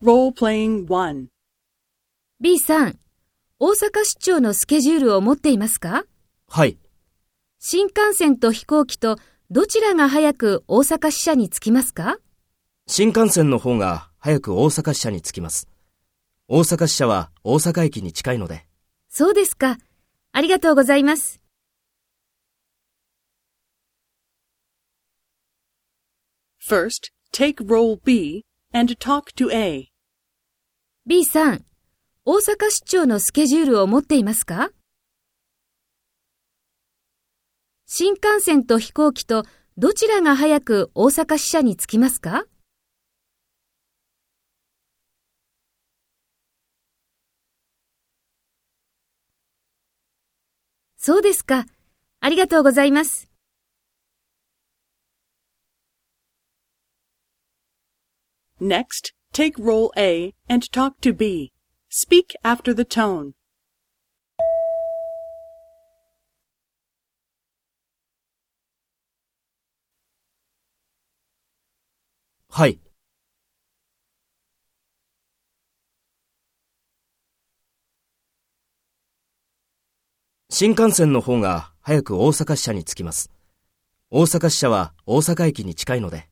Role-playing 1. B さん、大阪出張のスケジュールを持っていますか？ はい。 新幹線と飛行機とどちらが早く大阪支社に着きますか？ 新幹線の方が早く大阪支社に着きます。大阪支社は大阪駅に近いので。 そうですか。ありがとうございます。 First, take role B and talk to A. B さん、大阪出張のスケジュールを持っていますか？新幹線と飛行機とどちらが早く大阪支社に着きますか？そうですか。ありがとうございます。 Next, take role A and talk to B. Speak after the tone. はい。新幹線の方が早く大阪支社に着きます。大阪支社は大阪駅に近いので。